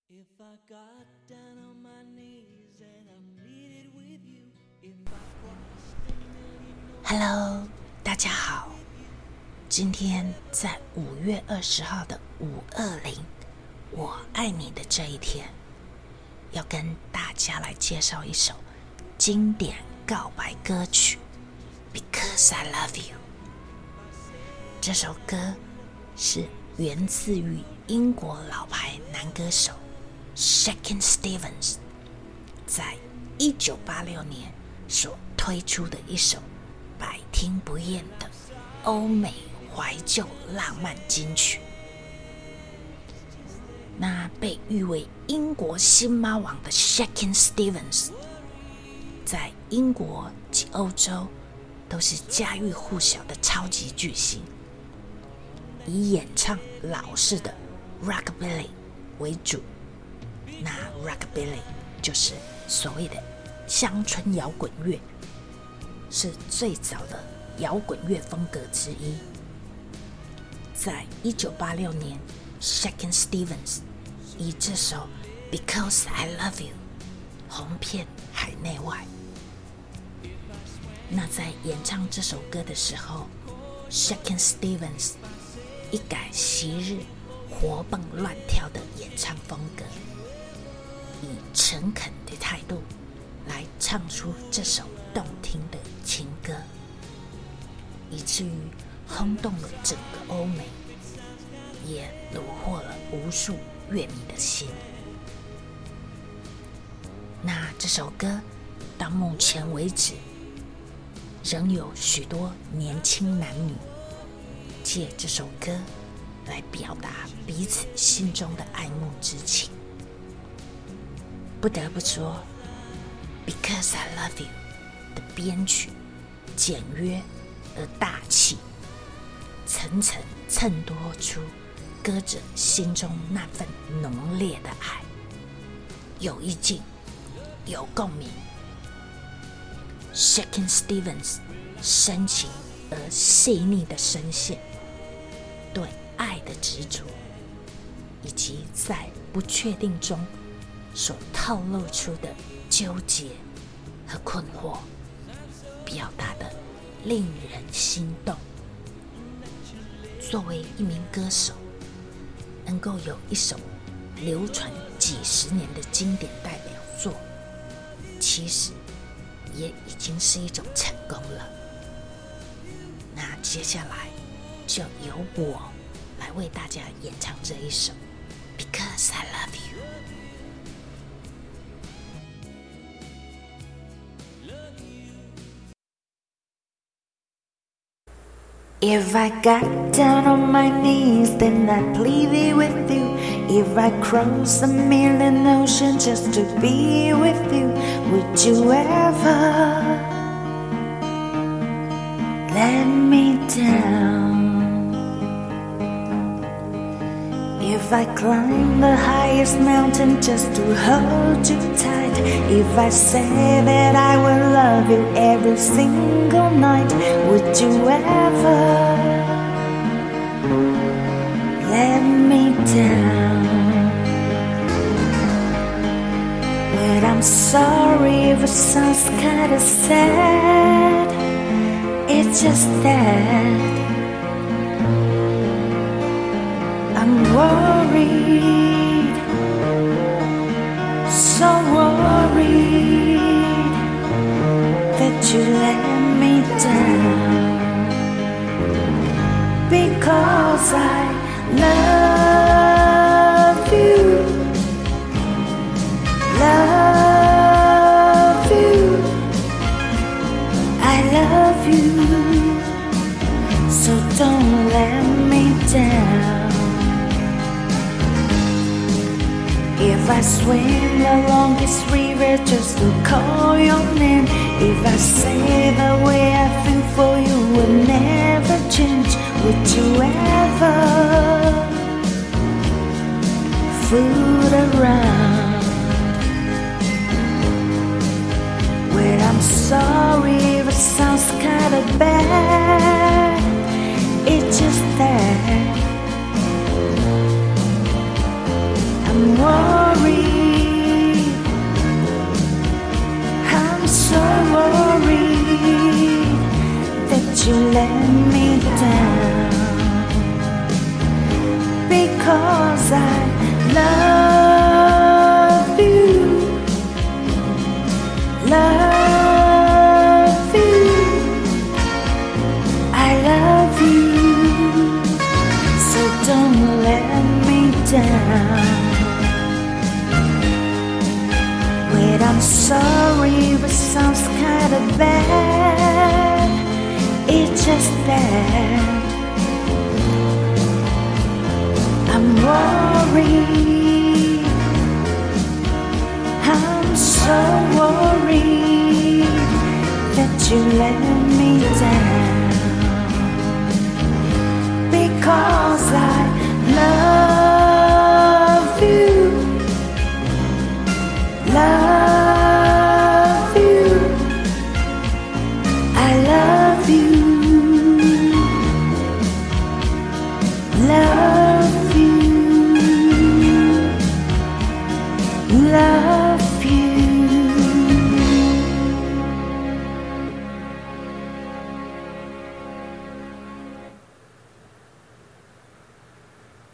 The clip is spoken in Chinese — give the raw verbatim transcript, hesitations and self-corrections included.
If I got down on my knees and I pleaded with you, if I crossed a million Hello， 大家好。今天在五月二十号的五二零，我爱你的这一天，要跟大家来介绍一首经典告白歌曲《Because I Love You》。这首歌是源自于英国老牌男歌手 Shakin' Stevens 在一九八六年所推出的一首百听不厌的欧美怀旧浪漫金曲。那被誉为英国新妈王的 Shakin' Stevens 在英国及欧洲都是家喻户晓的超级巨星，以演唱老式的 Rockabilly 为主。那 Rockabilly 就是所谓的乡村摇滚乐，是最早的摇滚乐风格之一。在一九八六年 Shakin' Stevens 以这首 Because I Love You 红遍海内外。那在演唱这首歌的时候， Shakin' Stevens 一改昔日活蹦乱跳的演唱风格，以诚恳的态度来唱出这首动听的情歌，以至于轰动了整个欧美，也虏获了无数乐迷的心。那这首歌到目前为止，仍有许多年轻男女借这首歌来表达彼此心中的爱慕之情。不得不说 Because I Love You 的编曲简约而大气，层层衬托出歌者心中那份浓烈的爱，有意境，有共鸣。Shakin' Stevens 深情而细腻的声线，对爱的执着，以及在不确定中所透露出的纠结和困惑，表达的令人心动。作为一名歌手，能够有一首流传几十年的经典代表作，其实也已经是一种成功了。那接下来就由我来为大家演唱这一首 Because I Love You。 If I got down on my knees, then I'd plead with you. If I crossed a million oceans just to be with you, would you ever let me down? If I climb the highest mountain just to hold you tight, if I say that I will love you every single night, would you ever let me down? Well, I'm sorry if it sounds kinda sad, it's just that I'm worried, so worried that you let me down. Because I love you, love you, I love you, so don't let me down. If I swim the longest river just to call your name, if I say the way I feel for you will never change, would you ever fool around? Well, I'm sorry if it sounds kinda bad, it's just that I'm worried because I love you, love you, I love you, so don't let me down. Wait, I'm sorry, but sounds kinda bad, it's just that I'm worried, I'm so worried that you let me down, because I